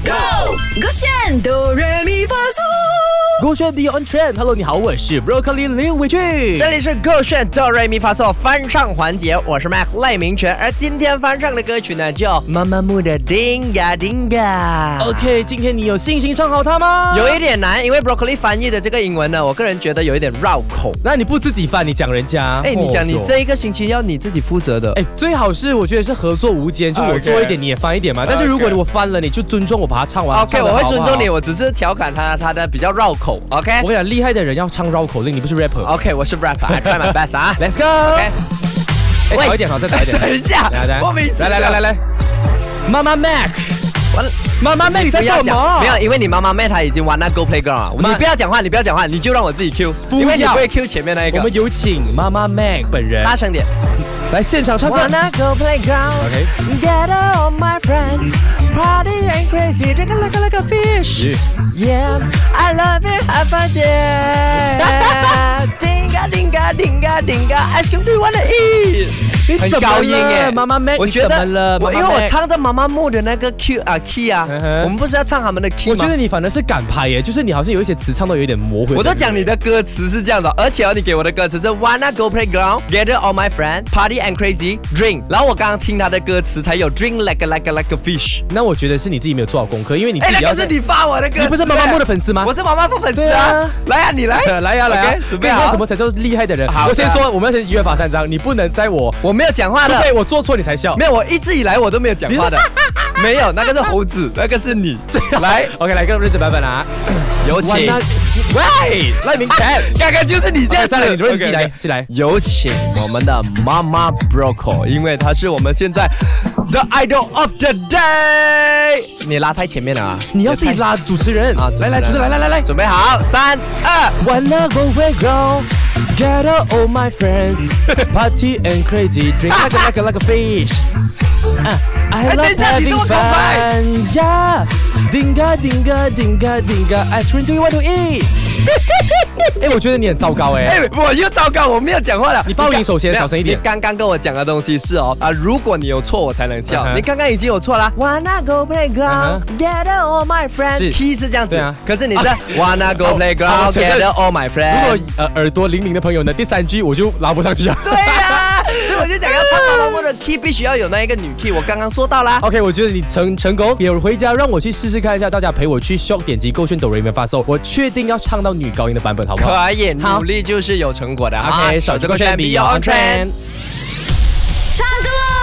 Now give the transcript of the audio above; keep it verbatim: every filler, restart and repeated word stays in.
Go， 勾选哆来咪发嗦， 勾选 Beyond Trend。Hello， 你好，我是 Broccoli 刘伟俊， 这里是勾选哆来咪发嗦翻唱环节，我是 Mac 赖明全，而今天翻唱的歌曲呢，叫妈妈木的 Dinga Dinga。 OK， 今天你有信心唱好它吗？ 有一点难，因为 Broccoli 翻译的这个英文呢，我个人觉得有一点绕口。 那你不自己翻，你讲人家？ 哎，你讲你哦这一个星期要你自己负责的。 哎，最好是我觉得是合作无间，就我 Okay 做一点，你也翻一点嘛。但是如果我翻了，你就尊重我，把它唱完。 OK， 唱得好我会尊重你， 好不好。 我只是调侃他，他的比较绕口。OK， 我跟你讲，厉害的人要唱绕口令，你不是 rapper。 OK， 我是 rapper，I try my best 啊。 Let's go。 OK， 哎， 喂早一点好，再早一点。 等一下来来， 莫名其妙来来来来来，妈妈 Mac， 完了。 妈妈 Mac 你在不要讲， 干嘛？ 没有，因为你妈妈妹她已经玩那 Go Playground 了。 妈你不要讲话，你不要讲话，你就让我自己 Q， 不要因为你不会 Q 前面那一个。 我们有请妈妈 Mac 本人大声点。 来现场唱歌。 Wanna go playground, OK gather all my friends, party and crazy, drink like a like a fish. Yeah, I love it, have fun there. Dinga dinga dinga dinga, ice cream do you wanna eat? 很高音耶， 妈妈 Mac， 我觉得你怎么了我因妈妈 Mac 为我唱着妈妈木的那个 Q 啊 key 啊嗯哼我们不是要唱他们的 key 吗？ 我觉得你反而是敢拍耶，就是你好像有一些词唱到有一点模糊。 我都讲你的歌词是这样的，而且哦，你给我的歌词是 Wanna go playground, gather all my friends, party and crazy, drink。然后我刚刚听他的歌词才有 drink like a like a like a fish。 那我觉得是你自己没有做好功课，因为你自哎， 己要那个是你发我的歌词， 你不是妈妈木的粉丝吗？ 我是妈妈木粉丝对啊啊。 来啊，你来， 来呀来呀 OK，，准备好跟你说什么才叫厉害的人？ 好的我先说，我们要先约法三章，你不能在我我没有讲话的， 对我做错你才笑。 没有，我一直以来我都没有讲话的，没有，那个是猴子，那个是你。来 OK， 来，跟我们认真版本啊。 有请， 喂，赖明全， 刚刚就是你这样子， 再来，你轮自己 OK，OK 来，自己来。 有请我们的妈妈 Broccoli， 因为她是我们现在 The Idol of the Day。你拉太前面了啊！ 你要自己拉主持人啊！ 来来，主持人来来来来， 准备好，三二。 Wanna go playground, gather all my friends, party and crazy, drink like a like a like a fish. Uh, I 哎，等 love 一下，你这 having 么快 fun, yeah. Dinga dinga dinga dinga, ice cream do you want to eat? 哎，我觉得你很糟糕哎。 哎，我又糟糕，我没有讲话了。 你报名首先没有小声一点你刚刚跟我讲的东西是哦啊，如果你有错我才能笑。 嗯哼你刚刚已经有错了。Wanna go playground, 嗯 gather all my friends。 是 Key 是这样子对啊， 可是你是 Wanna go 好好 playground, 我承认 gather all my 如 friends。 果呃耳朵灵敏的朋友呢，第三句我就拉不上去啊。 对呀，所以我就讲要唱妈妈木的 key 必须要有那一个女 key，我刚刚做到啦。 OK， 我觉得你成成功，别回家让我去试试看一下，大家陪我去 shop 点击勾选哆来咪发嗦，我确定要唱到女高音的版本，好不好？ 可以， 好努力就是有成果的。 OK，手机勾选 Beyond Trend。 唱歌喽！